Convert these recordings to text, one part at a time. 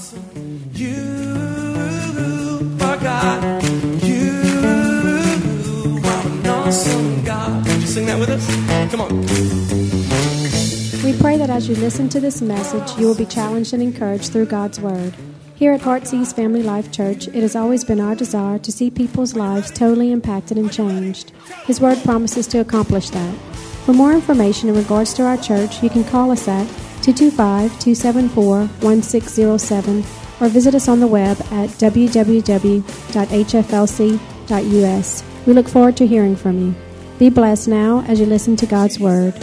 awesome. You are God. You are an awesome God. Sing that with us. Come on. We pray that as you listen to this message, you will be challenged and encouraged through God's Word. Here at Heartsease Family Life Church, it has always been our desire to see people's lives totally impacted and changed. His Word promises to accomplish that. For more information in regards to our church, you can call us at 225-274-1607 or visit us on the web at www.hflc.us. We look forward to hearing from you. Be blessed now as you listen to God's Word.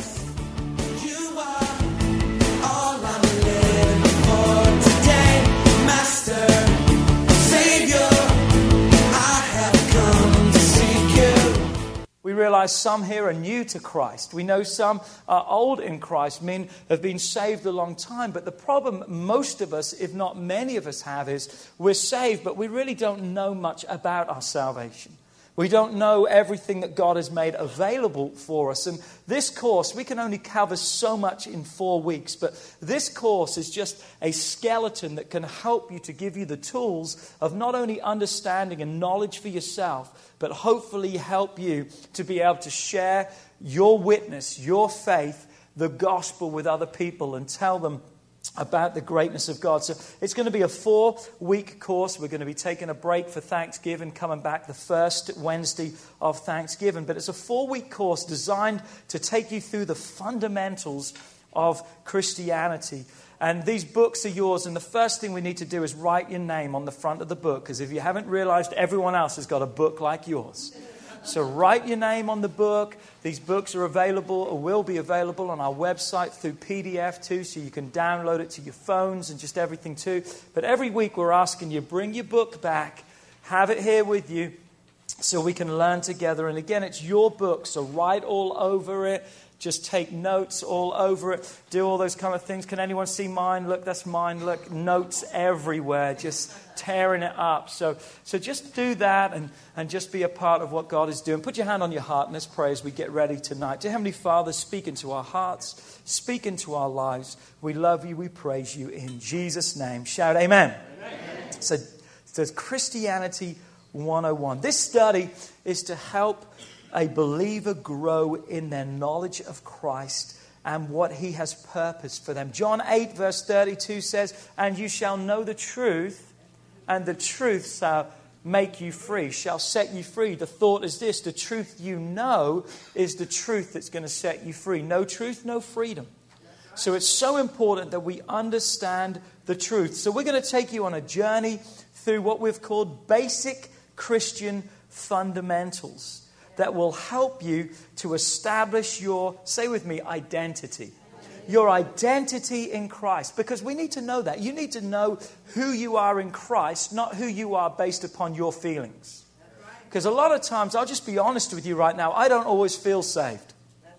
We realize some here are new to Christ. We know some are old in Christ, men have been saved a long time. But the problem most of us, if not many of us have, is we're saved, but we really don't know much about our salvation. We don't know everything that God has made available for us. And this course, we can only cover so much in 4 weeks. But this course is just a skeleton that can help you to give you the tools of not only understanding and knowledge for yourself, but hopefully help you to be able to share your witness, your faith, the gospel with other people and tell them about the greatness of God. So it's going to be a 4-week course. We're going to be taking a break for Thanksgiving, coming back the first Wednesday of Thanksgiving. But it's a 4-week course designed to take you through the fundamentals of Christianity. And these books are yours, and the first thing we need to do is write your name on the front of the book, because if you haven't realized, everyone else has got a book like yours. So write your name on the book. These books are available or will be available on our website through PDF too, so you can download it to your phones and just everything too. But every week we're asking you, bring your book back, have it here with you so we can learn together. And again, it's your book, so write all over it. Just take notes all over it. Do all those kind of things. Can anyone see mine? Look, that's mine. Look, notes everywhere. Just tearing it up. So just do that and just be a part of what God is doing. Put your hand on your heart and let's pray as we get ready tonight. Dear Heavenly Father, speak into our hearts. Speak into our lives. We love you. We praise you in Jesus' name. Shout amen. Amen. So it's Christianity 101. This study is to help a believer grow in their knowledge of Christ and what he has purposed for them. John 8 verse 32 says, "And you shall know the truth, and the truth shall make you free," shall set you free. The thought is this: the truth you know is the truth that's going to set you free. No truth, no freedom. So it's so important that we understand the truth. So we're going to take you on a journey through what we've called basic Christian fundamentals that will help you to establish your, say with me, identity. Your identity in Christ. Because we need to know that. You need to know who you are in Christ, not who you are based upon your feelings. Because a lot of times, I'll just be honest with you right now, I don't always feel saved.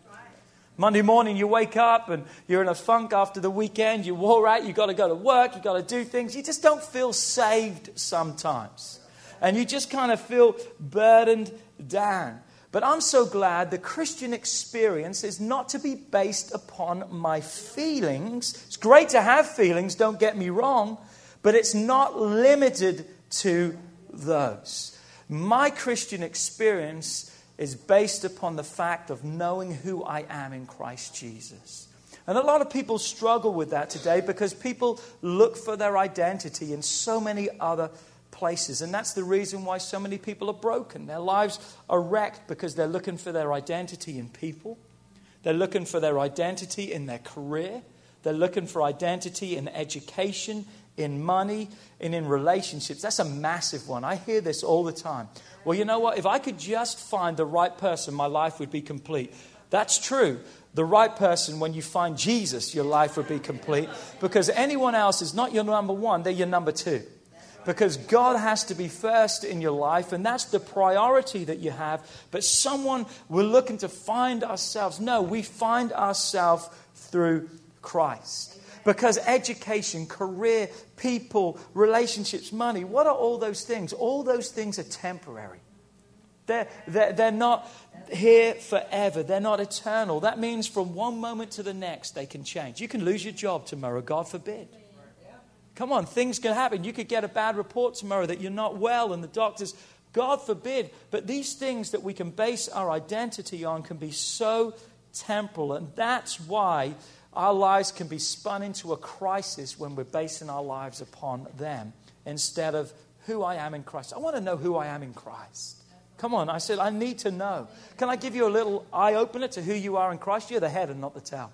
Monday morning you wake up and you're in a funk after the weekend, you wore out, you've got to go to work, you've got to do things. You just don't feel saved sometimes. And you just kind of feel burdened down. But I'm so glad the Christian experience is not to be based upon my feelings. It's great to have feelings, don't get me wrong, but it's not limited to those. My Christian experience is based upon the fact of knowing who I am in Christ Jesus. And a lot of people struggle with that today because people look for their identity in so many other places. And that's the reason why so many people are broken. Their lives are wrecked because they're looking for their identity in people. They're looking for their identity in their career. They're looking for identity in education, in money, and in relationships. That's a massive one. I hear this all the time. Well, you know what? If I could just find the right person, my life would be complete. That's true. The right person, when you find Jesus, your life would be complete. Because anyone else is not your number one, they're your number two. Because God has to be first in your life, and that's the priority that you have. But we're looking to find ourselves. No, we find ourselves through Christ. Because education, career, people, relationships, money, what are all those things? All those things are temporary. They're not here forever. They're not eternal. That means from one moment to the next, they can change. You can lose your job tomorrow, God forbid. Come on, things can happen. You could get a bad report tomorrow that you're not well and the doctors, God forbid. But these things that we can base our identity on can be so temporal. And that's why our lives can be spun into a crisis when we're basing our lives upon them instead of who I am in Christ. I want to know who I am in Christ. Come on, I said, I need to know. Can I give you a little eye-opener to who you are in Christ? You're the head and not the tail.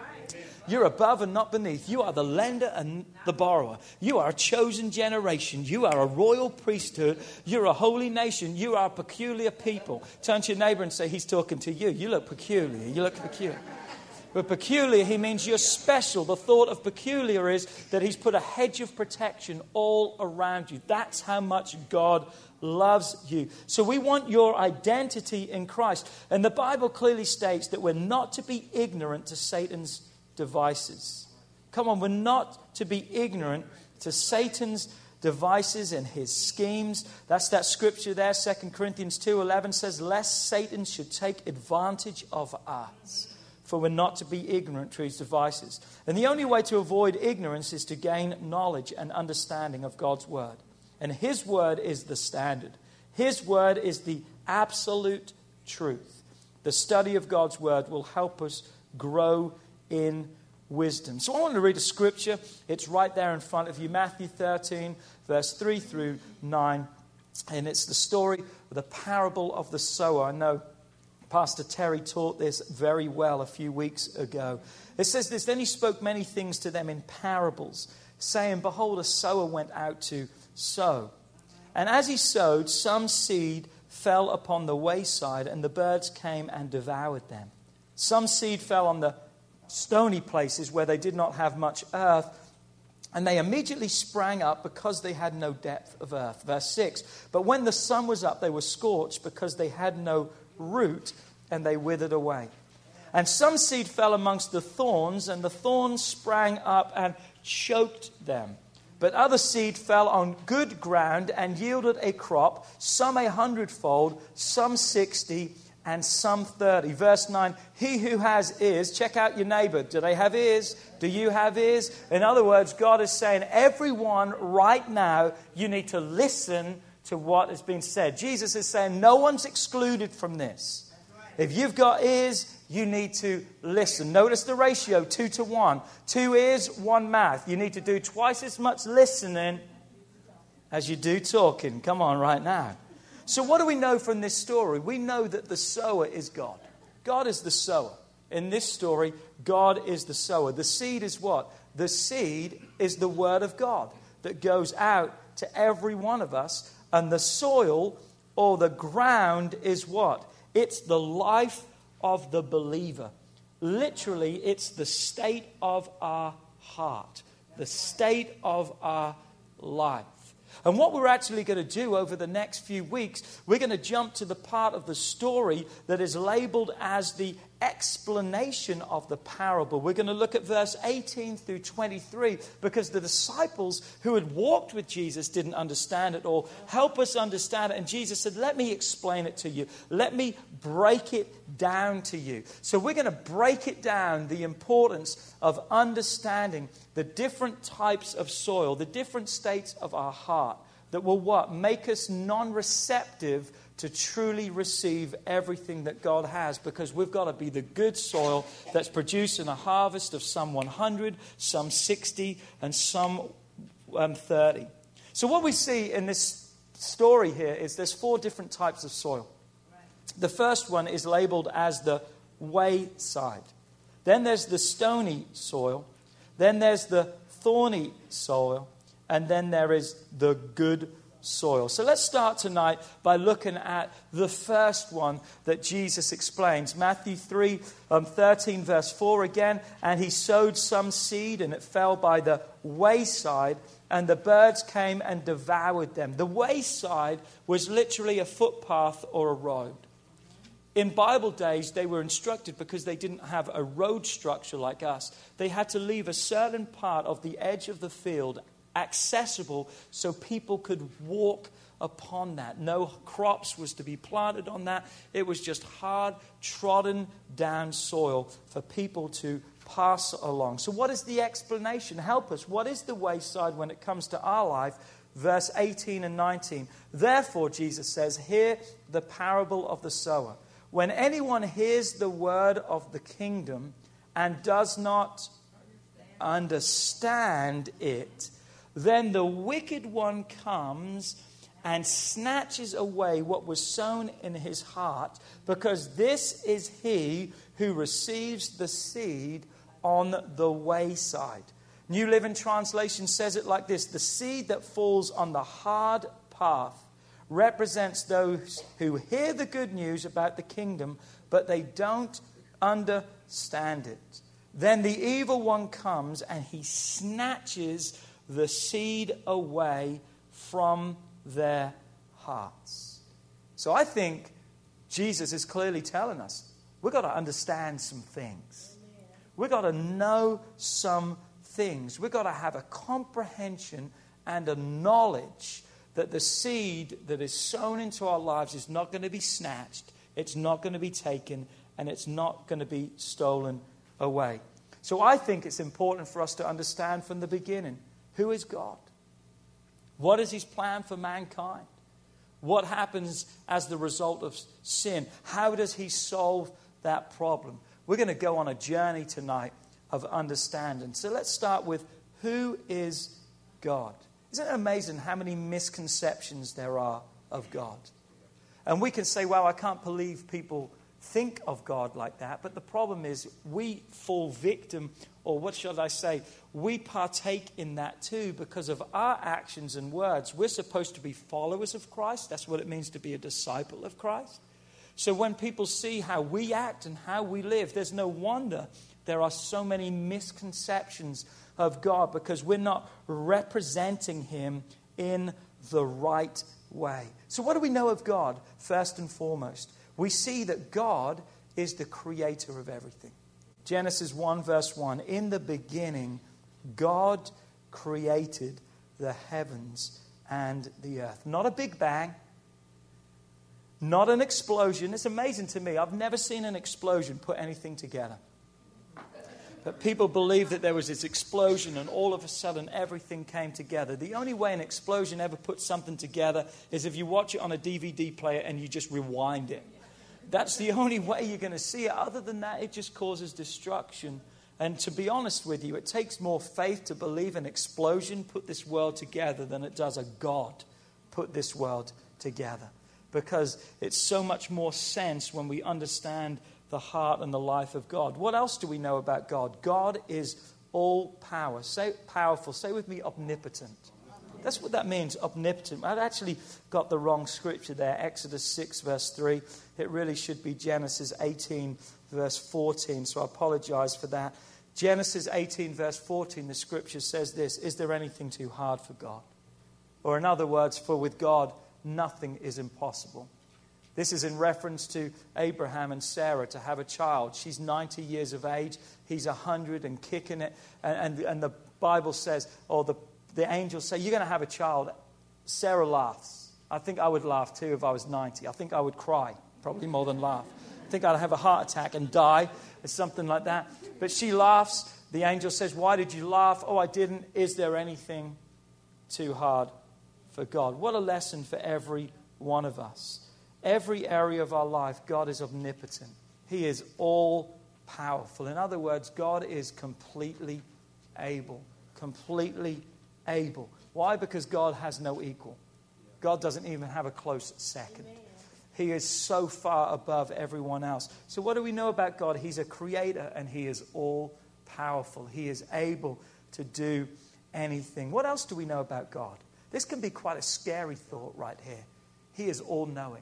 You're above and not beneath. You are the lender and the borrower. You are a chosen generation. You are a royal priesthood. You're a holy nation. You are a peculiar people. Turn to your neighbor and say, he's talking to you. You look peculiar. You look peculiar. But peculiar, he means you're special. The thought of peculiar is that he's put a hedge of protection all around you. That's how much God loves you. So we want your identity in Christ. And the Bible clearly states that we're not to be ignorant to Satan's devices. Come on, we're not to be ignorant to Satan's devices and his schemes. That's that scripture there, 2 Corinthians 2:11 says, lest Satan should take advantage of us. For we're not to be ignorant to his devices. And the only way to avoid ignorance is to gain knowledge and understanding of God's word. And his word is the standard. His word is the absolute truth. The study of God's word will help us grow in wisdom. So I want to read a scripture. It's right there in front of you. Matthew 13, verse 3 through 9. And it's the story of the parable of the sower. I know Pastor Terry taught this very well a few weeks ago. It says this, then he spoke many things to them in parables, saying, behold, a sower went out to sow. And as he sowed, some seed fell upon the wayside, and the birds came and devoured them. Some seed fell on the stony places where they did not have much earth, and they immediately sprang up because they had no depth of earth. Verse 6, but when the sun was up, they were scorched because they had no root, and they withered away. And some seed fell amongst the thorns, and the thorns sprang up and choked them. But other seed fell on good ground and yielded a crop, some 100-fold, some 60, and some 30. Verse 9, he who has ears, check out your neighbor. Do they have ears? Do you have ears? In other words, God is saying, everyone right now, you need to listen to what has been said. Jesus is saying, no one's excluded from this. If you've got ears, you need to listen. Notice the ratio, 2 to 1. 2 ears, 1 mouth. You need to do twice as much listening as you do talking. Come on, right now. So what do we know from this story? We know that the sower is God. God is the sower. In this story, God is the sower. The seed is what? The seed is the word of God that goes out to every one of us. And the soil or the ground is what? It's the life of the believer. Literally, it's the state of our heart, the state of our life. And what we're actually going to do over the next few weeks, we're going to jump to the part of the story that is labeled as the explanation of the parable. We're going to look at verse 18 through 23 because the disciples who had walked with Jesus didn't understand it all. Help us understand it. And Jesus said, let me explain it to you. Let me break it down to you. So we're going to break it down, the importance of understanding the different types of soil, the different states of our heart that will what? Make us non-receptive to truly receive everything that God has, because we've got to be the good soil that's producing a harvest of some 100, some 60, and some 30. So what we see in this story here is there's 4 different types of soil. The first one is labeled as the wayside. Then there's the stony soil. Then there's the thorny soil. And then there is the good soil. So let's start tonight by looking at the first one that Jesus explains. Matthew 3:13 verse 4 again. And he sowed some seed, and it fell by the wayside, and the birds came and devoured them. The wayside was literally a footpath or a road. In Bible days, they were instructed, because they didn't have a road structure like us, they had to leave a certain part of the edge of the field accessible so people could walk upon that. No crops was to be planted on that. It was just hard, trodden down soil for people to pass along. So what is the explanation? Help us. What is the wayside when it comes to our life? Verse 18 and 19. Therefore, Jesus says, hear the parable of the sower. When anyone hears the word of the kingdom and does not understand it, then the wicked one comes and snatches away what was sown in his heart, because this is he who receives the seed on the wayside. New Living Translation says it like this: the seed that falls on the hard path represents those who hear the good news about the kingdom, but they don't understand it. Then the evil one comes and he snatches the seed away from their hearts. So I think Jesus is clearly telling us we've got to understand some things. We've got to know some things. We've got to have a comprehension and a knowledge that the seed that is sown into our lives is not going to be snatched, it's not going to be taken, and it's not going to be stolen away. So I think it's important for us to understand from the beginning, who is God? What is his plan for mankind? What happens as the result of sin? How does he solve that problem? We're going to go on a journey tonight of understanding. So let's start with, who is God? Isn't it amazing how many misconceptions there are of God? And we can say, well, I can't believe people think of God like that. But the problem is we fall victim, or what should I say, we partake in that too because of our actions and words. We're supposed to be followers of Christ. That's what it means to be a disciple of Christ. So when people see how we act and how we live, there's no wonder there are so many misconceptions of God, because we're not representing him in the right way. So what do we know of God? First and foremost, we see that God is the creator of everything. Genesis 1 verse 1, in the beginning, God created the heavens and the earth. Not a big bang, not an explosion. It's amazing to me. I've never seen an explosion put anything together. But people believe that there was this explosion and all of a sudden everything came together. The only way an explosion ever puts something together is if you watch it on a DVD player and you just rewind it. That's the only way you're going to see it. Other than that, it just causes destruction. And to be honest with you, it takes more faith to believe an explosion put this world together than it does a God put this world together. Because it's so much more sense when we understand the heart and the life of God. What else do we know about God? God is all power. Say powerful. Say with me, omnipotent. That's what that means, omnipotent. I've actually got the wrong scripture there. Exodus 6 verse 3. It really should be Genesis 18 verse 14. So I apologize for that. Genesis 18 verse 14, the scripture says this: is there anything too hard for God? Or in other words, for with God, nothing is impossible. This is in reference to Abraham and Sarah to have a child. She's 90 years of age. He's 100 and kicking it. And the Bible says, or the angels say, you're going to have a child. Sarah laughs. I think I would laugh too if I was 90. I think I would cry, probably more than laugh. I think I'd have a heart attack and die or something like that. But she laughs. The angel says, why did you laugh? Oh, I didn't. Is there anything too hard for God? What a lesson for every one of us. Every area of our life, God is omnipotent. He is all powerful. In other words, God is completely able. Completely able. Why? Because God has no equal. God doesn't even have a close second. He is so far above everyone else. So what do we know about God? He's a creator and he is all powerful. He is able to do anything. What else do we know about God? This can be quite a scary thought right here. He is all-knowing.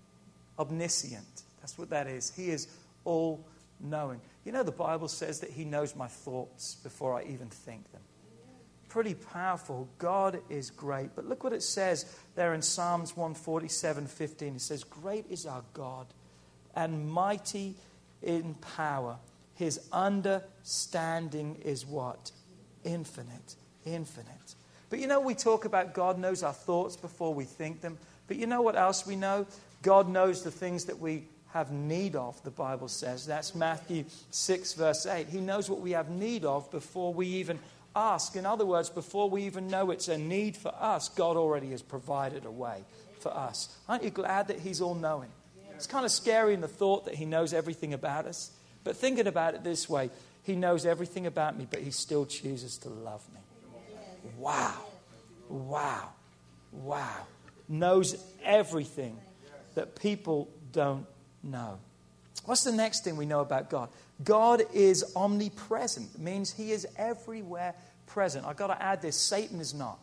Omniscient. That's what that is. He is all-knowing. You know, the Bible says that he knows my thoughts before I even think them. Pretty powerful. God is great. But look what it says there in Psalms 147:15. It says, great is our God and mighty in power. His understanding is what? Infinite. Infinite. But you know, we talk about God knows our thoughts before we think them. But you know what else we know? God knows the things that we have need of, the Bible says. That's Matthew 6, verse 8. He knows what we have need of before we even ask. In other words, before we even know it's a need for us, God already has provided a way for us. Aren't you glad that He's all-knowing? It's kind of scary in the thought that He knows everything about us. But thinking about it this way, He knows everything about me, but He still chooses to love me. Wow. Wow. Wow. Knows everything that people don't know. What's the next thing we know about God? God is omnipresent. It means He is everywhere present. I've got to add this. Satan is not.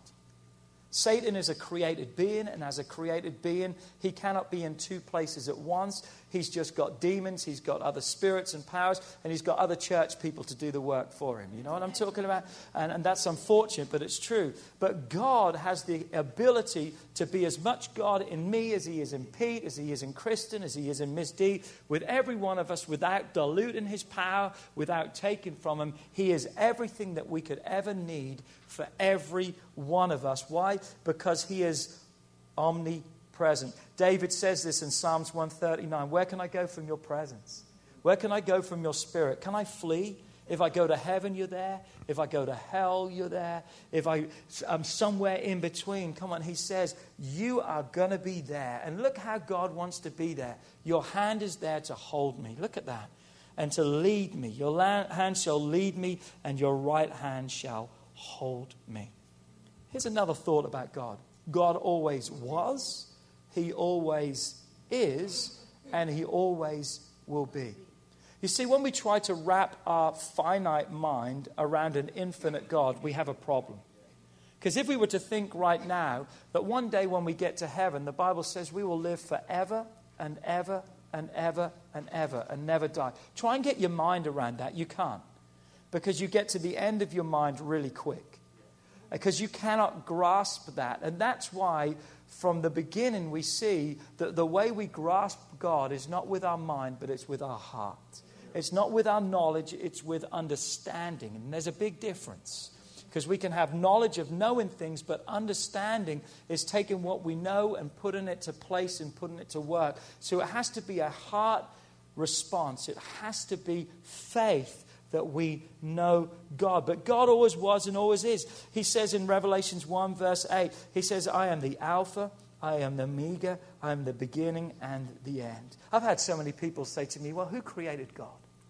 Satan is a created being, and as a created being, he cannot be in two places at once. He's just got demons, he's got other spirits and powers, and he's got other church people to do the work for him. You know what I'm talking about? And that's unfortunate, but it's true. But God has the ability to be as much God in me as He is in Pete, as He is in Kristen, as He is in Miss D, with every one of us, without diluting His power, without taking from Him. He is everything that we could ever need for every one of us. Why? Because He is omnipresent. David says this in Psalms 139. Where can I go from your presence? Where can I go from your spirit? Can I flee? If I go to heaven, you're there. If I go to hell, you're there. If I'm somewhere in between, come on, He says, you are going to be there. And look how God wants to be there. Your hand is there to hold me. Look at that. And to lead me. Your hand shall lead me, and your right hand shall hold me. Here's another thought about God. God always was, He always is, and He always will be. You see, when we try to wrap our finite mind around an infinite God, we have a problem. Because if we were to think right now that one day when we get to heaven, the Bible says we will live forever and ever and ever and ever and never die. Try and get your mind around that. You can't. Because you get to the end of your mind really quick. Because you cannot grasp that. And that's why from the beginning we see that the way we grasp God is not with our mind, but it's with our heart. It's not with our knowledge, it's with understanding. And there's a big difference. Because we can have knowledge of knowing things, but understanding is taking what we know and putting it to place and putting it to work. So it has to be a heart response. It has to be faith that we know God. But God always was and always is. He says in Revelations 1 verse 8, He says, I am the Alpha, I am the Omega, I am the beginning and the end. I've had so many people say to me, well, who created God?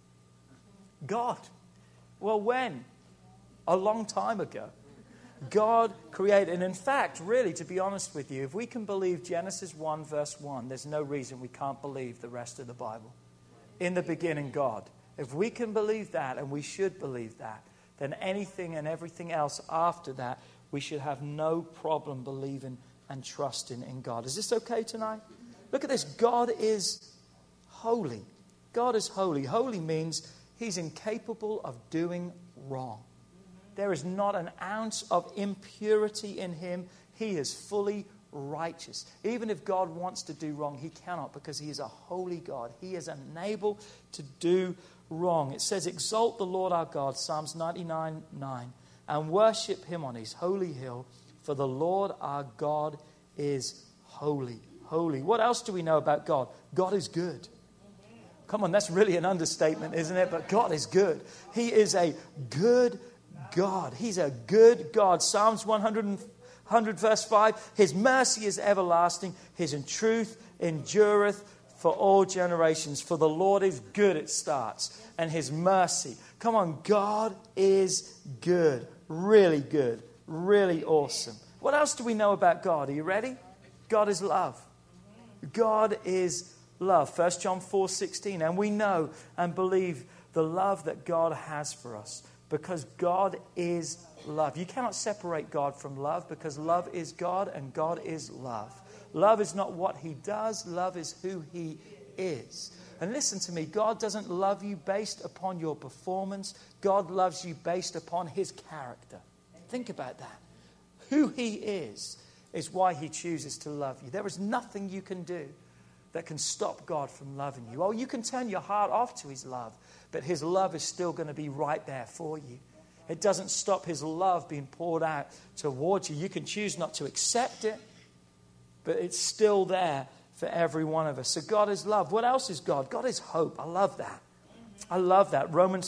God. Well, when? A long time ago. God created, and in fact, really, to be honest with you, if we can believe Genesis 1 verse 1, there's no reason we can't believe the rest of the Bible. In the beginning, God. If we can believe that, and we should believe that, then anything and everything else after that, we should have no problem believing and trusting in God. Is this okay tonight? Look at this. God is holy. God is holy. Holy means He's incapable of doing wrong. There is not an ounce of impurity in Him. He is fully righteous. Even if God wants to do wrong, He cannot, because He is a holy God. He is unable to do wrong. It says, exalt the Lord our God, Psalms 99:9, and worship Him on His holy hill, for the Lord our God is holy. Holy. What else do we know about God? God is good. Come on, that's really an understatement, isn't it? But God is good. He is a good God. He's a good God. Psalms 100 verse 5, His mercy is everlasting, His truth endureth for all generations. For the Lord is good, it starts, and His mercy. Come on, God is good. Really good. Really awesome. What else do we know about God? Are you ready? God is love. God is love. 1 John 4:16. And we know and believe the love that God has for us, because God is love. You cannot separate God from love, because love is God and God is love. Love is not what He does. Love is who He is. And listen to me. God doesn't love you based upon your performance. God loves you based upon His character. Think about that. Who He is why He chooses to love you. There is nothing you can do that can stop God from loving you. Oh, you can turn your heart off to His love, but His love is still going to be right there for you. It doesn't stop His love being poured out towards you. You can choose not to accept it, but it's still there for for every one of us. So God is love. What else is God? God is hope. I love that. I love that. Romans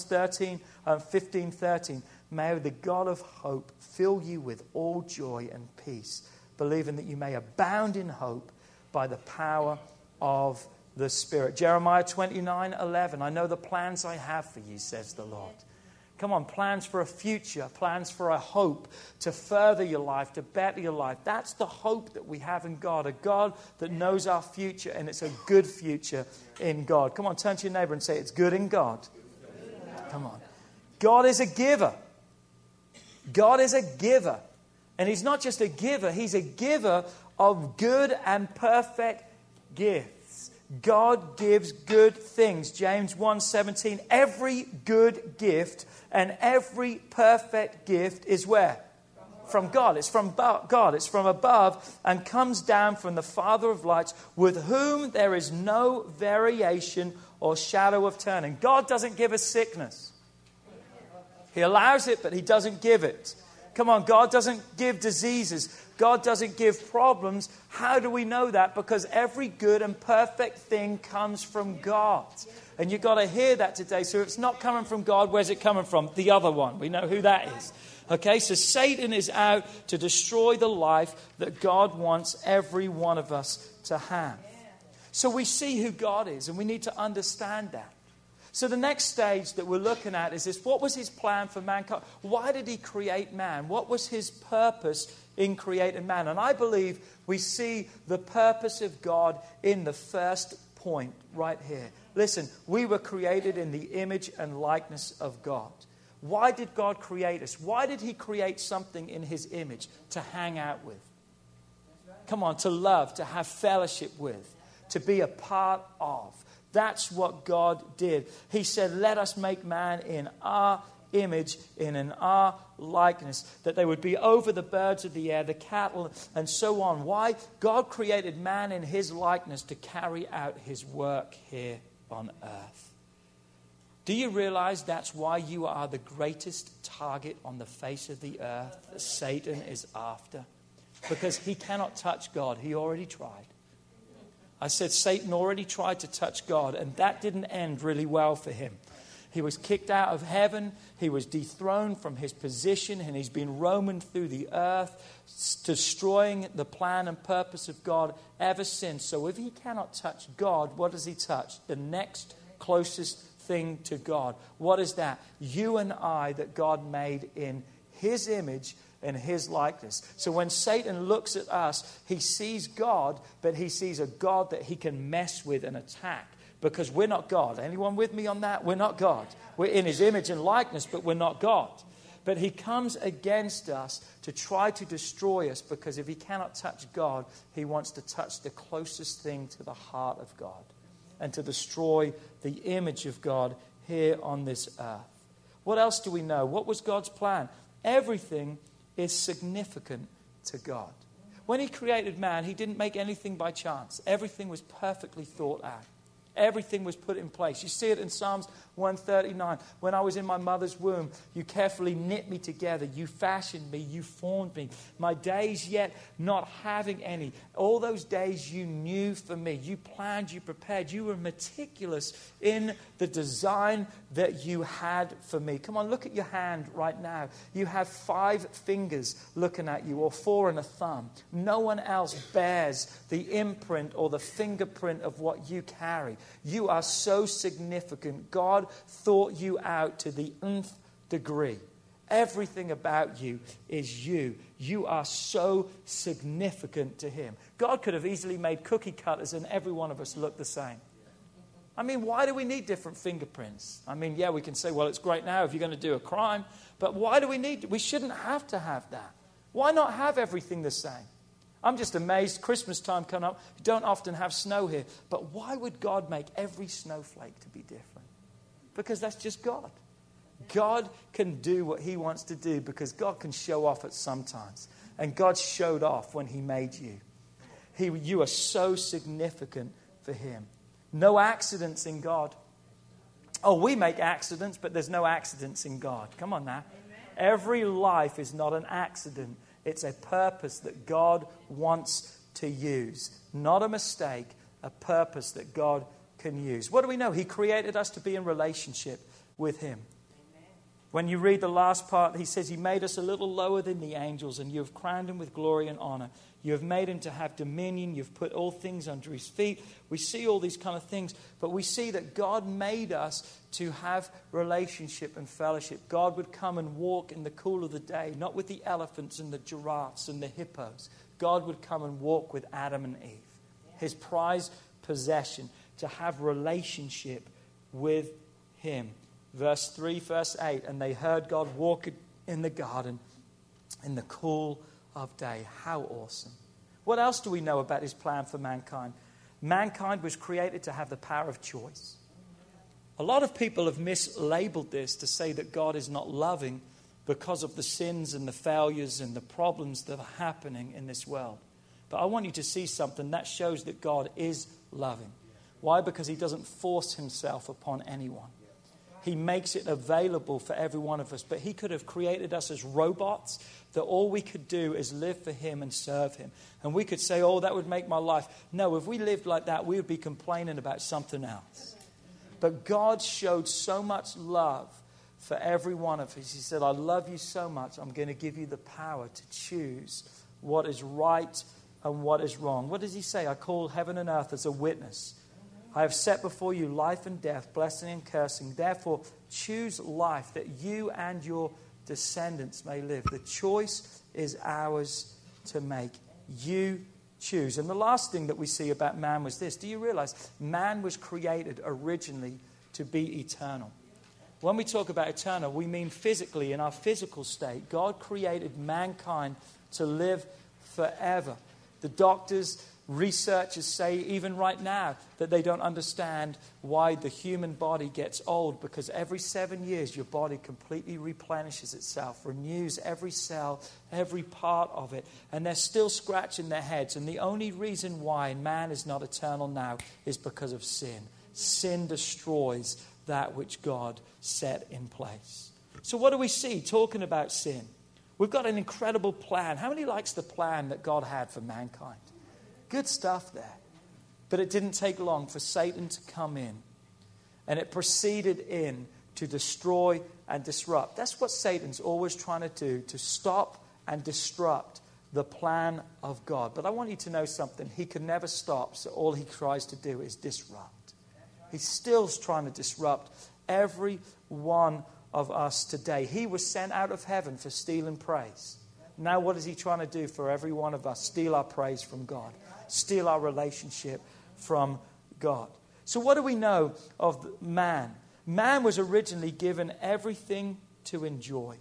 15:13. May the God of hope fill you with all joy and peace, believing that you may abound in hope by the power of the Spirit. Jeremiah 29:11. I know the plans I have for you, says the Lord. Come on, plans for a future, plans for a hope to further your life, to better your life. That's the hope that we have in God, a God that knows our future, and it's a good future in God. Come on, turn to your neighbor and say, it's good in God. Come on. God is a giver. God is a giver. And He's not just a giver, He's a giver of good and perfect gifts. God gives good things. James 1:17. Every good gift and every perfect gift is where? From God. It's from God. It's from above and comes down from the Father of lights, with whom there is no variation or shadow of turning. God doesn't give us sickness. He allows it, but He doesn't give it. Come on, God doesn't give diseases. God doesn't give problems. How do we know that? Because every good and perfect thing comes from God. And you've got to hear that today. So if it's not coming from God, where's it coming from? The other one. We know who that is. Okay, so Satan is out to destroy the life that God wants every one of us to have. So we see who God is, and we need to understand that. So the next stage that we're looking at is this. What was His plan for mankind? Why did He create man? What was His purpose in creating man? And I believe we see the purpose of God in the first point right here. Listen, we were created in the image and likeness of God. Why did God create us? Why did He create something in His image to hang out with? Come on, to love, to have fellowship with, to be a part of. That's what God did. He said, let us make man in our image, in our likeness, that they would be over the birds of the air, the cattle, and so on. Why? God created man in His likeness to carry out His work here on earth. Do you realize that's why you are the greatest target on the face of the earth that Satan is after? Because he cannot touch God. He already tried. I said Satan already tried to touch God, and that didn't end really well for him. He was kicked out of heaven. He was dethroned from his position, and he's been roaming through the earth, destroying the plan and purpose of God ever since. So if he cannot touch God, what does he touch? The next closest thing to God. What is that? You and I that God made in His image and His likeness. So when Satan looks at us, he sees God, but he sees a God that he can mess with and attack. Because we're not God. Anyone with me on that? We're not God. We're in His image and likeness, but we're not God. But he comes against us to try to destroy us, because if he cannot touch God, he wants to touch the closest thing to the heart of God and to destroy the image of God here on this earth. What else do we know? What was God's plan? Everything is significant to God. When He created man, He didn't make anything by chance. Everything was perfectly thought out. Everything was put in place. You see it in Psalms 139. When I was in my mother's womb, you carefully knit me together. You fashioned me. You formed me. My days yet not having any. All those days you knew for me. You planned, you prepared. You were meticulous in the design that you had for me. Come on, look at your hand right now. You have 5 fingers looking at you, or 4 and a thumb. No one else bears the imprint or the fingerprint of what you carry. You are so significant. God thought you out to the nth degree. Everything about you is you. You are so significant to Him. God could have easily made cookie cutters and every one of us look the same. I mean, why do we need different fingerprints? I mean, yeah, we can say, well, it's great now if you're going to do a crime. But why do we need? We shouldn't have to have that. Why not have everything the same? I'm just amazed. Christmas time coming up. You don't often have snow here. But why would God make every snowflake to be different? Because that's just God. God can do what He wants to do because God can show off at some times. And God showed off when He made you. You are so significant for Him. No accidents in God. Oh, we make accidents, but there's no accidents in God. Come on now. Amen. Every life is not an accident. It's a purpose that God wants to use. Not a mistake, a purpose that God can use. What do we know? He created us to be in relationship with him. When you read the last part, he says he made us a little lower than the angels, and you have crowned him with glory and honor. You have made him to have dominion. You've put all things under his feet. We see all these kind of things, but we see that God made us to have relationship and fellowship. God would come and walk in the cool of the day, not with the elephants and the giraffes and the hippos. God would come and walk with Adam and Eve, his prized possession, to have relationship with him. Verse 3, verse 8, and they heard God walk in the garden in the cool of day. How awesome. What else do we know about his plan for mankind? Mankind was created to have the power of choice. A lot of people have mislabeled this to say that God is not loving because of the sins and the failures and the problems that are happening in this world. But I want you to see something that shows that God is loving. Why? Because he doesn't force himself upon anyone. He makes it available for every one of us. But he could have created us as robots that all we could do is live for him and serve him. And we could say, oh, that would make my life. No, if we lived like that, we would be complaining about something else. But God showed so much love for every one of us. He said, I love you so much, I'm going to give you the power to choose what is right and what is wrong. What does he say? I call heaven and earth as a witness. I have set before you life and death, blessing and cursing. Therefore, choose life that you and your descendants may live. The choice is ours to make. You choose. And the last thing that we see about man was this. Do you realize man was created originally to be eternal? When we talk about eternal, we mean physically, in our physical state. God created mankind to live forever. The doctors, researchers say even right now that they don't understand why the human body gets old, because every 7 years your body completely replenishes itself, renews every cell, every part of it, and they're still scratching their heads. And the only reason why man is not eternal now is because of sin. Sin destroys that which God set in place. So what do we see talking about sin? We've got an incredible plan. How many likes the plan that God had for mankind? Good stuff there. But it didn't take long for Satan to come in. And it proceeded in to destroy and disrupt. That's what Satan's always trying to do, to stop and disrupt the plan of God. But I want you to know something. He can never stop, so all he tries to do is disrupt. He's still trying to disrupt every one of us today. He was sent out of heaven for stealing praise. Now what is he trying to do for every one of us? Steal our praise from God. Steal our relationship from God. So what do we know of man? Man was originally given everything to enjoy,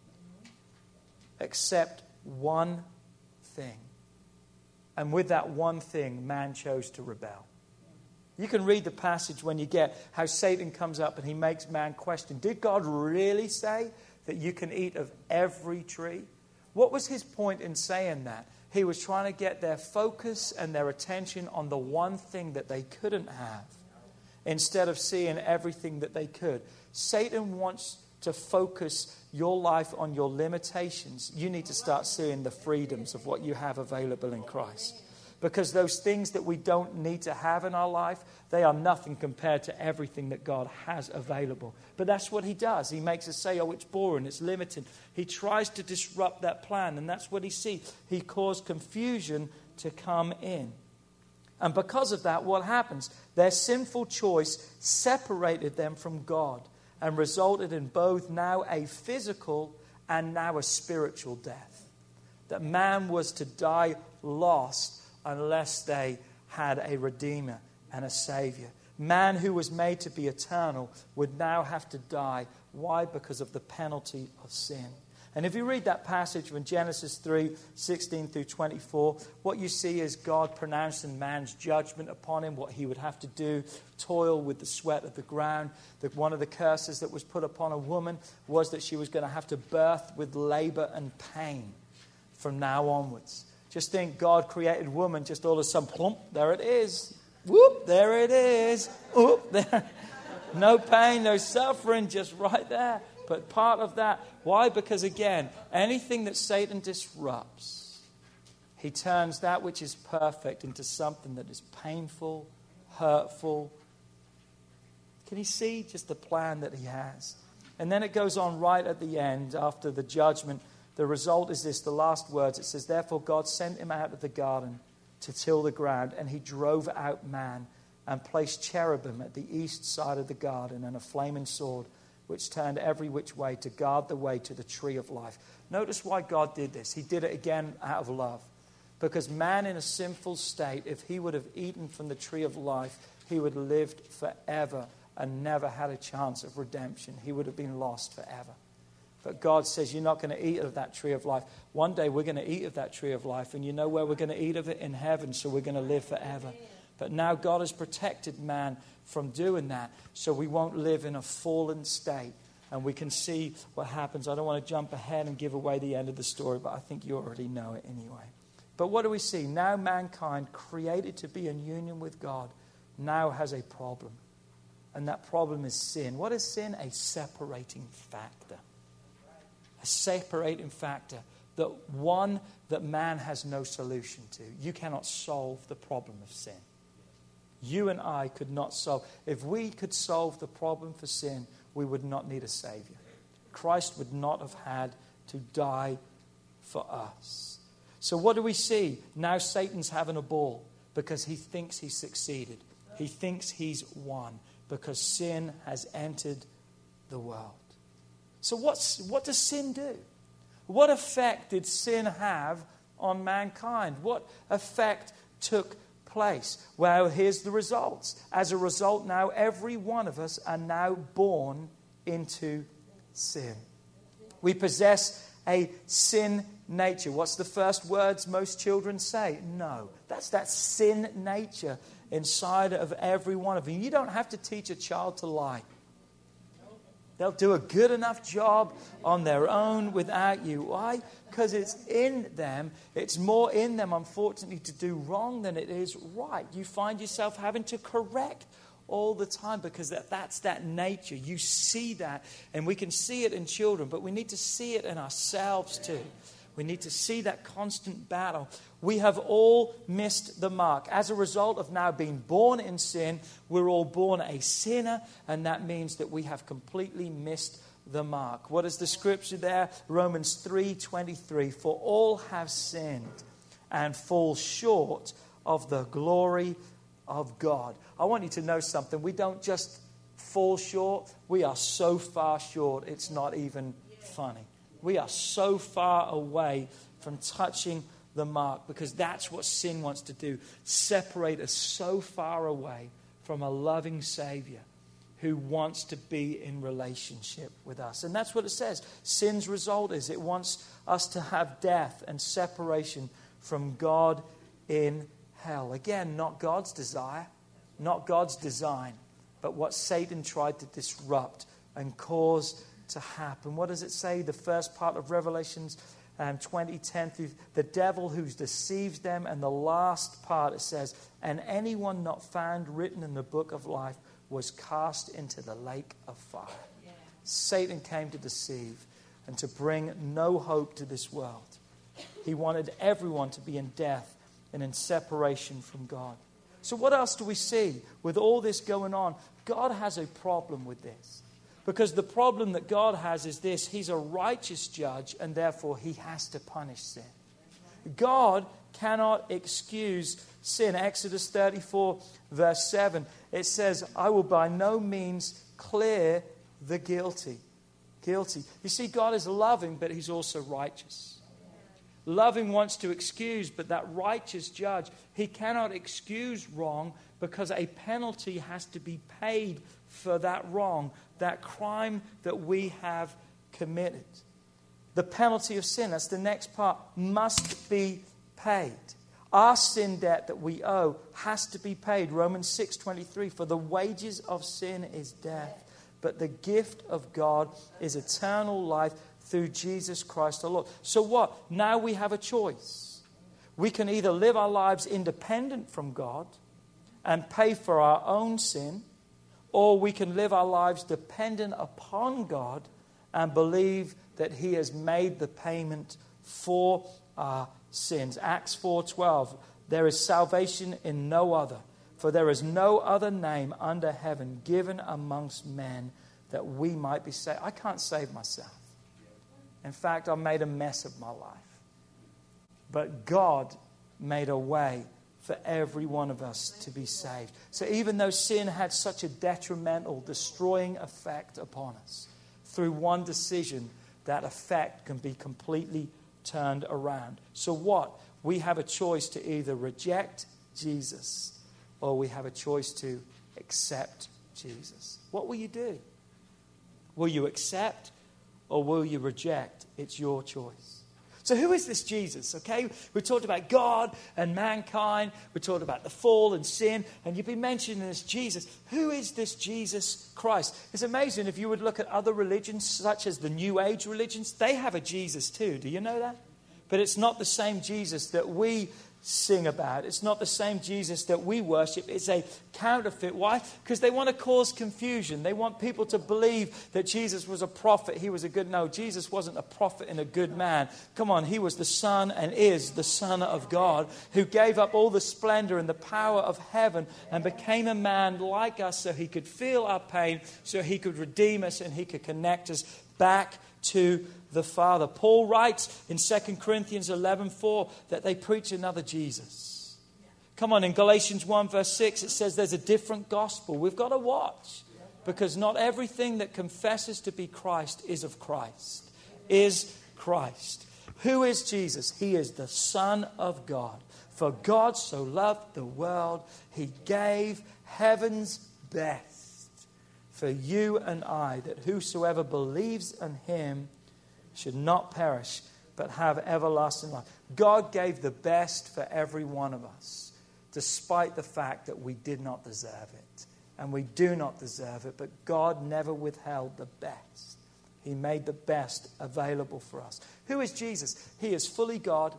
except one thing. And with that one thing, man chose to rebel. You can read the passage when you get how Satan comes up and he makes man question, did God really say that you can eat of every tree? What was his point in saying that? He was trying to get their focus and their attention on the one thing that they couldn't have, instead of seeing everything that they could. Satan wants to focus your life on your limitations. You need to start seeing the freedoms of what you have available in Christ. Because those things that we don't need to have in our life, they are nothing compared to everything that God has available. But that's what he does. He makes us say, oh, it's boring, it's limited. He tries to disrupt that plan, and that's what he sees. He caused confusion to come in. And because of that, what happens? Their sinful choice separated them from God and resulted in both now a physical and now a spiritual death. That man was to die lost unless they had a Redeemer and a Savior. Man who was made to be eternal would now have to die. Why? Because of the penalty of sin. And if you read that passage from Genesis 3:16 through 24, what you see is God pronouncing man's judgment upon him, what he would have to do, toil with the sweat of the ground. That one of the curses that was put upon a woman was that she was going to have to birth with labor and pain from now onwards. Just think, God created woman, just all of a sudden, plump, there it is. Whoop, there it is. Whoop, there. No pain, no suffering, just right there. But part of that, why? Because again, anything that Satan disrupts, He turns that which is perfect into something that is painful, hurtful. Can you see just the plan that he has? And then it goes on right at the end, after the judgment. The result is this, the last words. It says, therefore God sent him out of the garden to till the ground, and he drove out man and placed cherubim at the east side of the garden and a flaming sword which turned every which way to guard the way to the tree of life. Notice why God did this. He did it again out of love. Because man in a sinful state, if he would have eaten from the tree of life, he would have lived forever and never had a chance of redemption. He would have been lost forever. But God says, you're not going to eat of that tree of life. One day we're going to eat of that tree of life. And you know where we're going to eat of it? In heaven. So we're going to live forever. But now God has protected man from doing that. So we won't live in a fallen state. And we can see what happens. I don't want to jump ahead and give away the end of the story, but I think you already know it anyway. But what do we see? Now mankind, created to be in union with God, now has a problem. And that problem is sin. What is sin? A separating factor. A separating factor. One that man has no solution to. You cannot solve the problem of sin. You and I could not solve. If we could solve the problem for sin, we would not need a Savior. Christ would not have had to die for us. So what do we see? Now Satan's having a ball because he thinks he's succeeded. He thinks he's won because sin has entered the world. So what does sin do? What effect did sin have on mankind? What effect took place? Well, here's the results. As a result, now every one of us are now born into sin. We possess a sin nature. What's the first words most children say? No. That's that sin nature inside of every one of you. You don't have to teach a child to lie. They'll do a good enough job on their own without you. Why? Because it's in them. It's more in them, unfortunately, to do wrong than it is right. You find yourself having to correct all the time because that's that nature. You see that, and we can see it in children, but we need to see it in ourselves too. We need to see that constant battle. We have all missed the mark. As a result of now being born in sin, we're all born a sinner, and that means that we have completely missed the mark. What is the scripture there? Romans 3:23. For all have sinned and fall short of the glory of God. I want you to know something. We don't just fall short. We are so far short, it's not even funny. We are so far away from touching the mark because that's what sin wants to do. Separate us so far away from a loving Savior who wants to be in relationship with us. And that's what it says. Sin's result is it wants us to have death and separation from God in hell. Again, not God's desire, not God's design, but what Satan tried to disrupt and cause to happen. What does it say? The first part of Revelations 20:10, the devil who deceives them, and the last part it says, and anyone not found written in the book of life was cast into the lake of fire. Yeah. Satan came to deceive and to bring no hope to this world. He wanted everyone to be in death and in separation from God. So what else do we see with all this going on? God has a problem with this. Because the problem that God has is this: He's a righteous judge, and therefore He has to punish sin. God cannot excuse sin. Exodus 34 verse 7, it says, I will by no means clear the guilty. Guilty. You see, God is loving, but He's also righteous. Loving wants to excuse, but that righteous judge, He cannot excuse wrong because a penalty has to be paid for that wrong, that crime that we have committed. The penalty of sin, that's the next part, must be paid. Our sin debt that we owe has to be paid. Romans 6:23, for the wages of sin is death, but the gift of God is eternal life through Jesus Christ our Lord. So what? Now we have a choice. We can either live our lives independent from God and pay for our own sin, or we can live our lives dependent upon God and believe that He has made the payment for our sins. Acts 4:12, there is salvation in no other, for there is no other name under heaven given amongst men that we might be saved. I can't save myself. In fact, I made a mess of my life. But God made a way for every one of us to be saved. So even though sin had such a detrimental, destroying effect upon us, through one decision, that effect can be completely turned around. So what? We have a choice to either reject Jesus or we have a choice to accept Jesus. What will you do? Will you accept or will you reject? It's your choice. So who is this Jesus? Okay, we talked about God and mankind. We talked about the fall and sin. And you've been mentioning this Jesus. Who is this Jesus Christ? It's amazing if you would look at other religions, such as the New Age religions. They have a Jesus too. Do you know that? But it's not the same Jesus that we sing about. It's not the same Jesus that we worship. It's a counterfeit. Why? Because they want to cause confusion. They want people to believe that Jesus was a prophet. He was a good... No, Jesus wasn't a prophet and a good man. Come on, he was the Son and is the Son of God who gave up all the splendor and the power of heaven and became a man like us so he could feel our pain, so he could redeem us and he could connect us back to the Father. Paul writes in 2 Corinthians 11:4 that they preach another Jesus. Come on, in Galatians 1 verse 6 it says there's a different gospel. We've got to watch because not everything that confesses to be Christ is of Christ. Is Christ. Who is Jesus? He is the Son of God. For God so loved the world, he gave heaven's best for you and I, that whosoever believes in him should not perish, but have everlasting life. God gave the best for every one of us, despite the fact that we did not deserve it. And we do not deserve it, but God never withheld the best. He made the best available for us. Who is Jesus? He is fully God,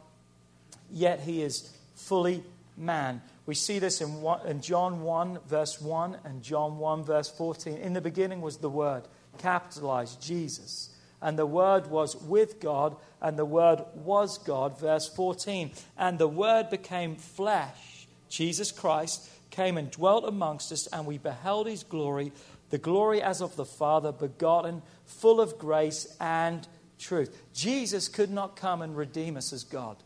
yet he is fully man. We see this in John 1 verse 1 and John 1 verse 14. In the beginning was the Word, capitalized, Jesus. And the Word was with God, and the Word was God. Verse 14. And the Word became flesh. Jesus Christ came and dwelt amongst us, and we beheld his glory, the glory as of the Father, begotten, full of grace and truth. Jesus could not come and redeem us as God.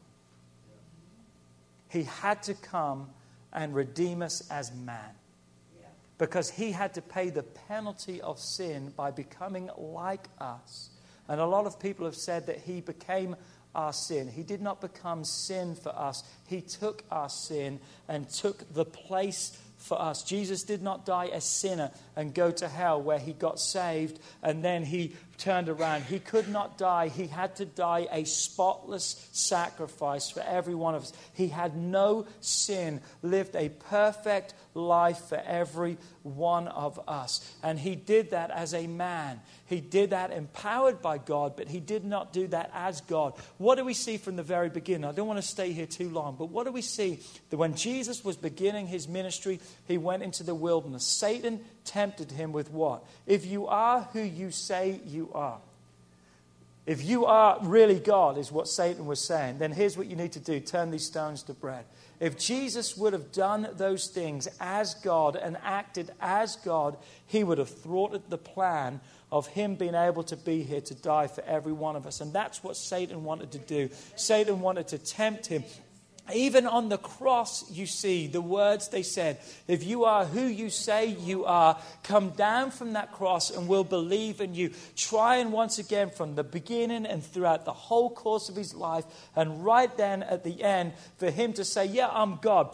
He had to come and redeem us as man. Because he had to pay the penalty of sin by becoming like us. And a lot of people have said that he became our sin. He did not become sin for us. He took our sin and took the place for us. Jesus did not die a sinner and go to hell where he got saved and then he turned around. He could not die. He had to die a spotless sacrifice for every one of us. He had no sin, lived a perfect life for every one of us. And he did that as a man. He did that empowered by God, but he did not do that as God. What do we see from the very beginning? I don't want to stay here too long, but what do we see? That when Jesus was beginning his ministry, he went into the wilderness. Satan tempted him with what? If you are who you say you are. If you are really God, is what Satan was saying, then here's what you need to do. Turn these stones to bread. If Jesus would have done those things as God and acted as God, he would have thwarted the plan of him being able to be here to die for every one of us. And that's what Satan wanted to do. Satan wanted to tempt him. Even on the cross, you see the words they said, if you are who you say you are, come down from that cross and we'll believe in you. Trying once again from the beginning and throughout the whole course of his life. And right then at the end, for him to say, yeah, I'm God.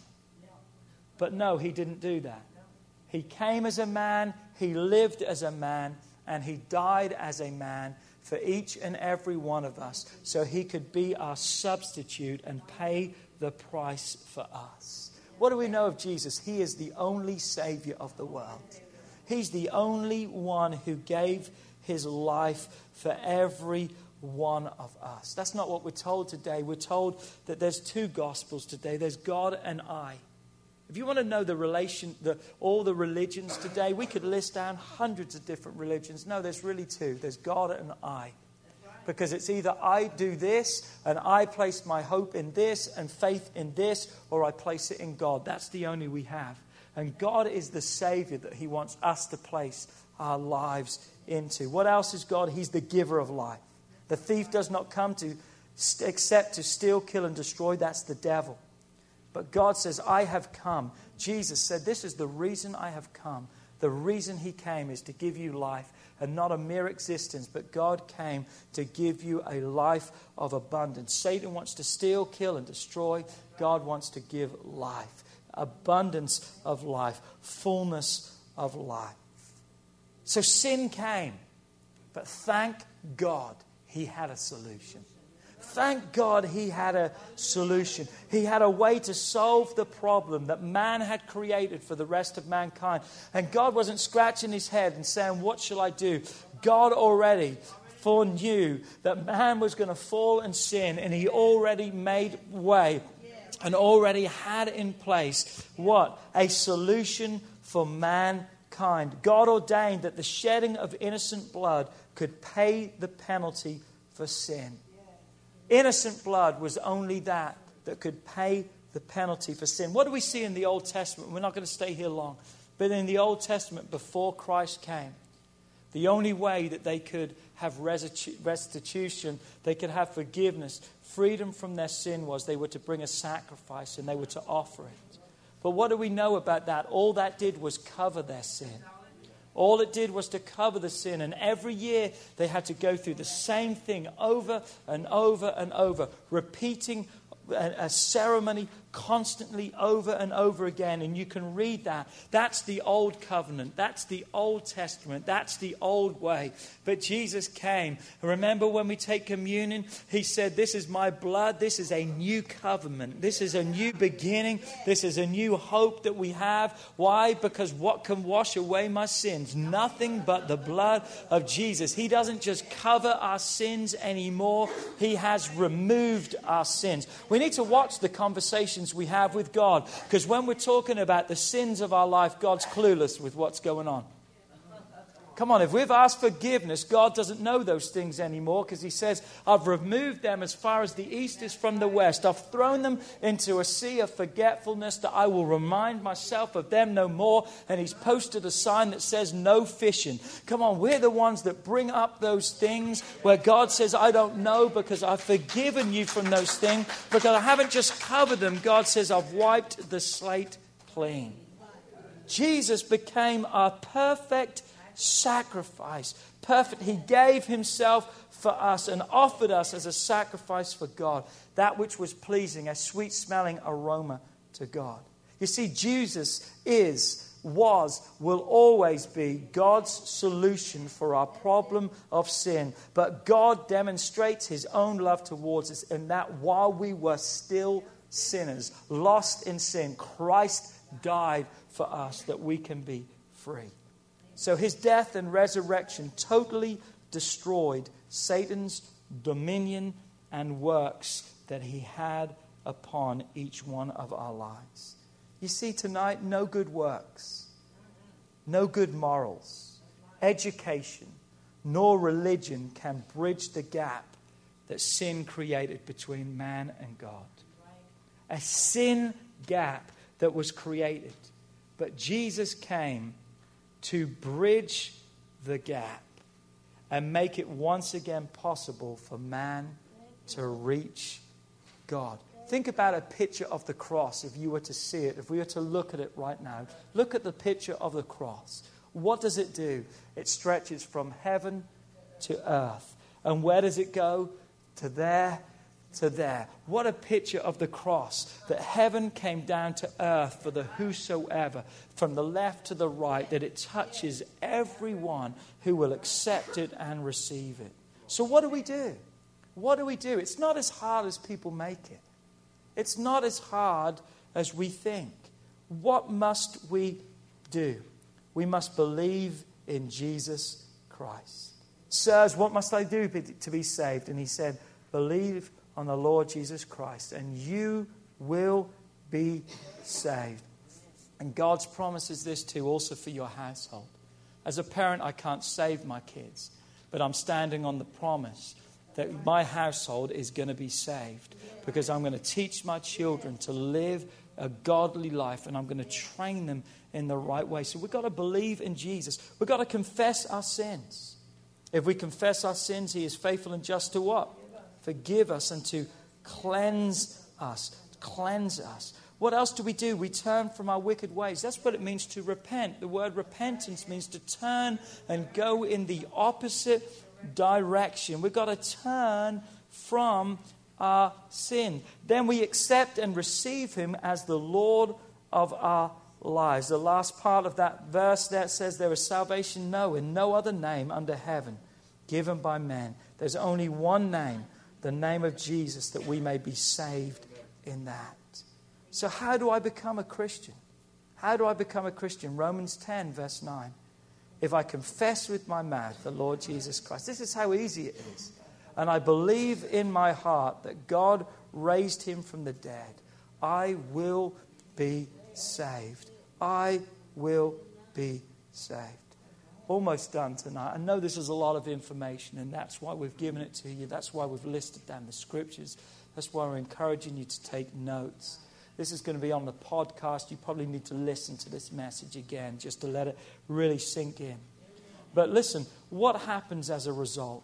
But no, he didn't do that. He came as a man, he lived as a man, and he died as a man for each and every one of us, so he could be our substitute and pay the price for us. What do we know of Jesus? He is the only Savior of the world. He's the only one who gave his life for every one of us. That's not what we're told today. We're told that there's two gospels today. There's God and I. If you want to know all the religions today, we could list down hundreds of different religions. No, there's really two. There's God and I. Because it's either I do this and I place my hope in this and faith in this, or I place it in God. That's the only we have. And God is the Savior that He wants us to place our lives into. What else is God? He's the giver of life. The thief does not come except to steal, kill, and destroy. That's the devil. But God says, I have come. Jesus said, this is the reason I have come. The reason He came is to give you life, and not a mere existence, but God came to give you a life of abundance. Satan wants to steal, kill, and destroy. God wants to give life, abundance of life, fullness of life. So sin came, but thank God He had a solution. Thank God He had a solution. He had a way to solve the problem that man had created for the rest of mankind. And God wasn't scratching His head and saying, what shall I do? God already foreknew that man was going to fall and sin, and He already made way and already had in place what? A solution for mankind. God ordained that the shedding of innocent blood could pay the penalty for sin. Innocent blood was only that could pay the penalty for sin. What do we see in the Old Testament? We're not going to stay here long. But in the Old Testament, before Christ came, the only way that they could have restitution, they could have forgiveness, freedom from their sin, was they were to bring a sacrifice and they were to offer it. But what do we know about that? All that did was cover their sin. All it did was to cover the sin. And every year they had to go through the same thing over and over and over, repeating a ceremony constantly over and over again. And you can read that. That's the old covenant. That's the Old Testament. That's the old way. But Jesus came. Remember when we take communion, He said, this is my blood. This is a new covenant. This is a new beginning. This is a new hope that we have. Why? Because what can wash away my sins? Nothing but the blood of Jesus. He doesn't just cover our sins anymore. He has removed our sins. We need to watch the conversations we have with God, because when we're talking about the sins of our life, God's clueless with what's going on. Come on, if we've asked forgiveness, God doesn't know those things anymore, because He says, I've removed them as far as the east is from the west. I've thrown them into a sea of forgetfulness, that I will remind myself of them no more. And He's posted a sign that says no fishing. Come on, we're the ones that bring up those things where God says, I don't know, because I've forgiven you from those things, because I haven't just covered them. God says, I've wiped the slate clean. Jesus became our perfect sacrifice. Perfect. He gave Himself for us and offered us as a sacrifice for God, that which was pleasing, a sweet smelling aroma to God. You see, Jesus will always be God's solution for our problem of sin. But God demonstrates His own love towards us in that while we were still sinners, lost in sin, Christ died for us that we can be free. So His death and resurrection totally destroyed Satan's dominion and works that he had upon each one of our lives. You see, tonight, no good works, no good morals, education, nor religion can bridge the gap that sin created between man and God. A sin gap that was created. But Jesus came to bridge the gap and make it once again possible for man to reach God. Think about a picture of the cross if you were to see it, if we were to look at it right now. Look at the picture of the cross. What does it do? It stretches from heaven to earth. And where does it go? To there, to there. What a picture of the cross, that heaven came down to earth for the whosoever, from the left to the right, that it touches everyone who will accept it and receive it. So what do we do? What do we do? It's not as hard as people make it. It's not as hard as we think. What must we do? We must believe in Jesus Christ. Sirs, what must I do to be saved? And he said, believe on the Lord Jesus Christ, and you will be saved. And God's promise is this too, also for your household. As a parent, I can't save my kids, but I'm standing on the promise that my household is going to be saved, because I'm going to teach my children to live a godly life, and I'm going to train them in the right way. So we've got to believe in Jesus. We've got to confess our sins. If we confess our sins, He is faithful and just to what? Forgive us and to cleanse us. Cleanse us. What else do? We turn from our wicked ways. That's what it means to repent. The word repentance means to turn and go in the opposite direction. We've got to turn from our sin. Then we accept and receive Him as the Lord of our lives. The last part of that verse there says, there is salvation in no other name under heaven given by men. There's only one name, the name of Jesus, that we may be saved in that. So how do I become a Christian? How do I become a Christian? Romans 10 verse 9. If I confess with my mouth the Lord Jesus Christ. This is how easy it is. And I believe in my heart that God raised Him from the dead, I will be saved. I will be saved. Almost done tonight. I know this is a lot of information, and that's why we've given it to you. That's why we've listed down the scriptures. That's why we're encouraging you to take notes. This is going to be on the podcast. You probably need to listen to this message again just to let it really sink in. But listen, what happens as a result?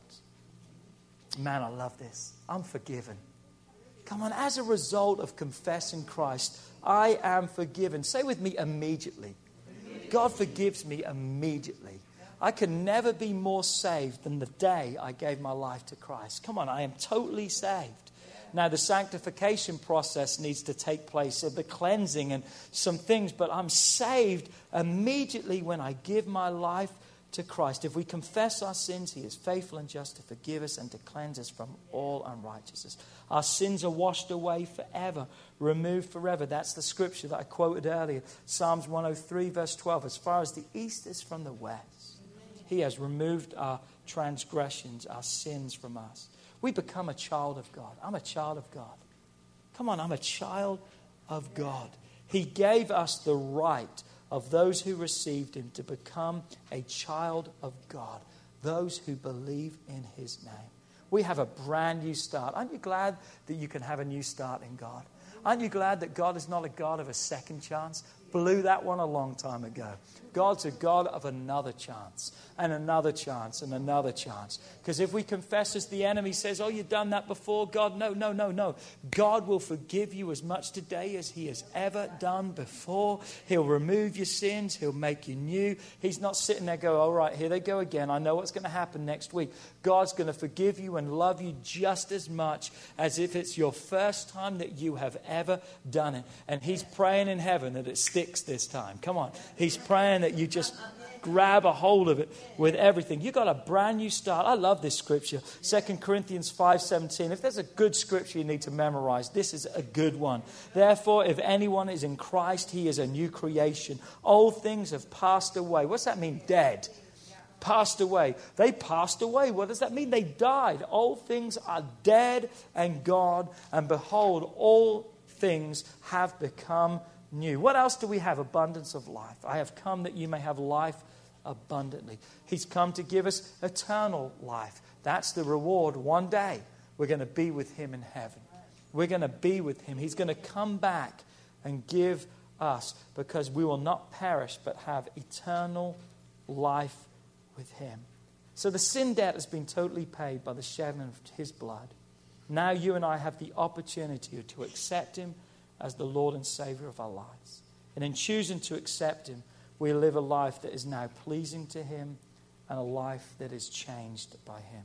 Man, I love this. I'm forgiven. Come on, as a result of confessing Christ, I am forgiven. Say with me, immediately. God forgives me immediately. I can never be more saved than the day I gave my life to Christ. Come on, I am totally saved. Now, the sanctification process needs to take place, of the cleansing and some things, but I'm saved immediately when I give my life to Christ. If we confess our sins, He is faithful and just to forgive us and to cleanse us from all unrighteousness. Our sins are washed away forever, removed forever. That's the scripture that I quoted earlier. Psalms 103 verse 12. As far as the east is from the west, He has removed our transgressions, our sins from us. We become a child of God. I'm a child of God. Come on, I'm a child of God. He gave us the right of those who received Him to become a child of God, those who believe in His name. We have a brand new start. Aren't you glad that you can have a new start in God? Aren't you glad that God is not a God of a second chance? Blew that one a long time ago. God's a God of another chance and another chance and another chance. Because if we confess, as the enemy says, oh, you've done that before, God, no. God will forgive you as much today as He has ever done before. He'll remove your sins. He'll make you new. He's not sitting there going, all right, here they go again. I know what's going to happen next week. God's going to forgive you and love you just as much as if it's your first time that you have ever done it. And He's praying in heaven that it sticks this time. Come on. He's praying that you just grab a hold of it with everything. You got a brand new start. I love this scripture. 2 Corinthians 5:17. If there's a good scripture you need to memorize, this is a good one. Therefore, if anyone is in Christ, he is a new creation. Old things have passed away. What's that mean? Dead. Passed away. They passed away. What does that mean? They died. Old things are dead and gone. And behold, all things have become new. What else do we have? Abundance of life. I have come that you may have life abundantly. He's come to give us eternal life. That's the reward. One day we're going to be with Him in heaven. We're going to be with Him. He's going to come back and give us, because we will not perish but have eternal life with Him. So the sin debt has been totally paid by the shedding of His blood. Now you and I have the opportunity to accept Him as the Lord and Savior of our lives. And in choosing to accept Him, we live a life that is now pleasing to Him and a life that is changed by Him.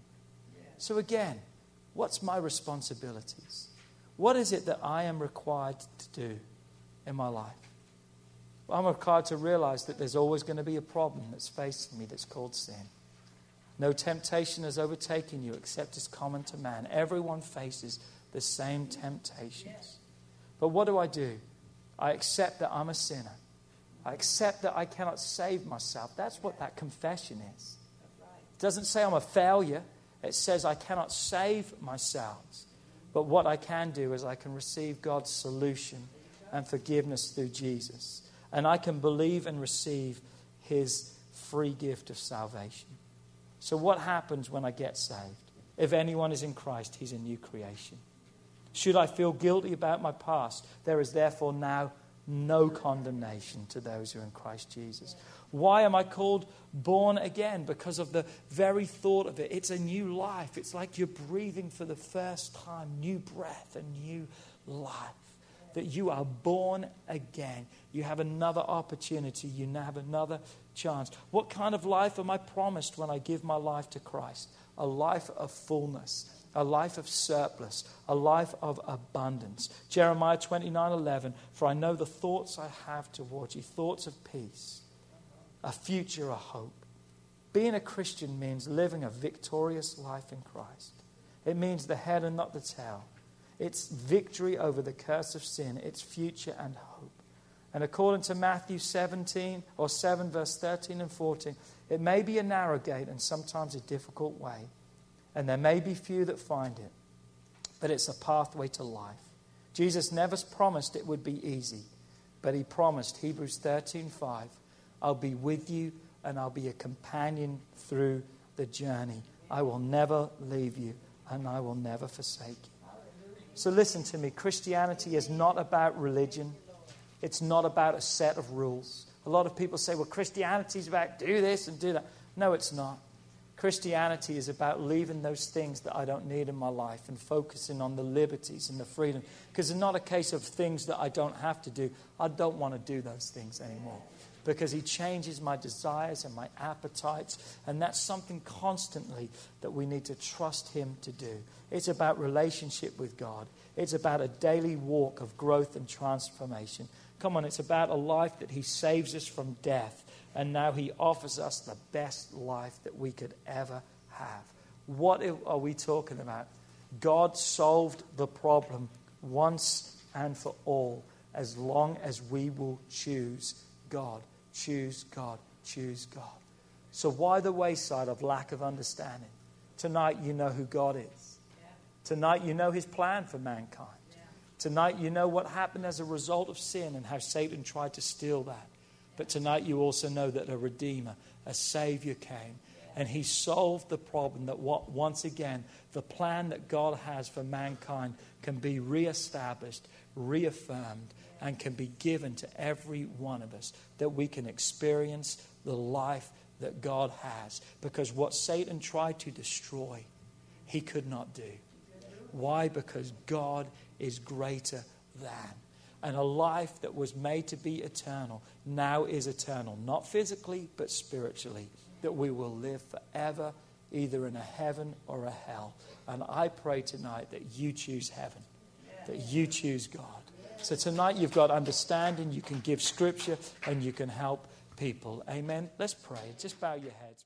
So again, what's my responsibilities? What is it that I am required to do in my life? Well, I'm required to realize that there's always going to be a problem that's facing me that's called sin. No temptation has overtaken you except is common to man. Everyone faces the same temptations. But what do? I accept that I'm a sinner. I accept that I cannot save myself. That's what that confession is. It doesn't say I'm a failure. It says I cannot save myself. But what I can do is I can receive God's solution and forgiveness through Jesus. And I can believe and receive His free gift of salvation. So what happens when I get saved? If anyone is in Christ, he's a new creation. Should I feel guilty about my past, there is therefore now no condemnation to those who are in Christ Jesus. Why am I called born again? Because of the very thought of it. It's a new life. It's like you're breathing for the first time, new breath, a new life. That you are born again. You have another opportunity. You now have another chance. What kind of life am I promised when I give my life to Christ? A life of fullness, a life of surplus, a life of abundance. Jeremiah 29:11, for I know the thoughts I have towards you, thoughts of peace, a future, a hope. Being a Christian means living a victorious life in Christ. It means the head and not the tail. It's victory over the curse of sin. It's future and hope. And according to Matthew 7 verse 13 and 14, it may be a narrow gate and sometimes a difficult way. And there may be few that find it. But it's a pathway to life. Jesus never promised it would be easy. But he promised, Hebrews 13:5, I'll be with you and I'll be a companion through the journey. I will never leave you and I will never forsake you. So listen to me. Christianity is not about religion. It's not about a set of rules. A lot of people say, well, Christianity is about do this and do that. No, it's not. Christianity is about leaving those things that I don't need in my life and focusing on the liberties and the freedom. Because it's not a case of things that I don't have to do. I don't want to do those things anymore. Because he changes my desires and my appetites. And that's something constantly that we need to trust him to do. It's about relationship with God. It's about a daily walk of growth and transformation. Come on, it's about a life that he saves us from death. And now he offers us the best life that we could ever have. What are we talking about? God solved the problem once and for all, as long as we will choose God. Choose God. Choose God. So why the wayside of lack of understanding? Tonight you know who God is. Tonight you know his plan for mankind. Tonight you know what happened as a result of sin and how Satan tried to steal that. But tonight you also know that a Redeemer, a Savior came. And he solved the problem that once again, the plan that God has for mankind can be reestablished, reaffirmed, and can be given to every one of us, that we can experience the life that God has. Because what Satan tried to destroy, he could not do. Why? Because God is greater than. And a life that was made to be eternal now is eternal. Not physically, but spiritually. That we will live forever, either in a heaven or a hell. And I pray tonight that you choose heaven. That you choose God. So tonight you've got understanding. You can give scripture and you can help people. Amen. Let's pray. Just bow your heads.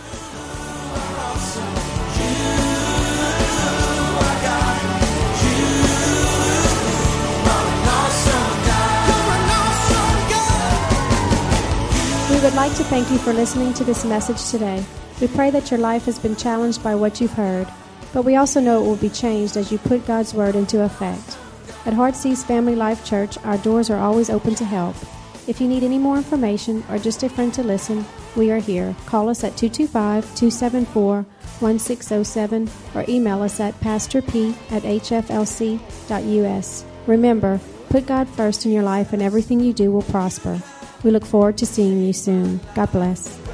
We would like to thank you for listening to this message today. We pray that your life has been challenged by what you've heard, but we also know it will be changed as you put God's Word into effect. At Heartsease Family Life Church, our doors are always open to help. If you need any more information or just a friend to listen, we are here. Call us at 225-274-1607 or email us at pastorp@hflc.us. Remember, put God first in your life and everything you do will prosper. We look forward to seeing you soon. God bless.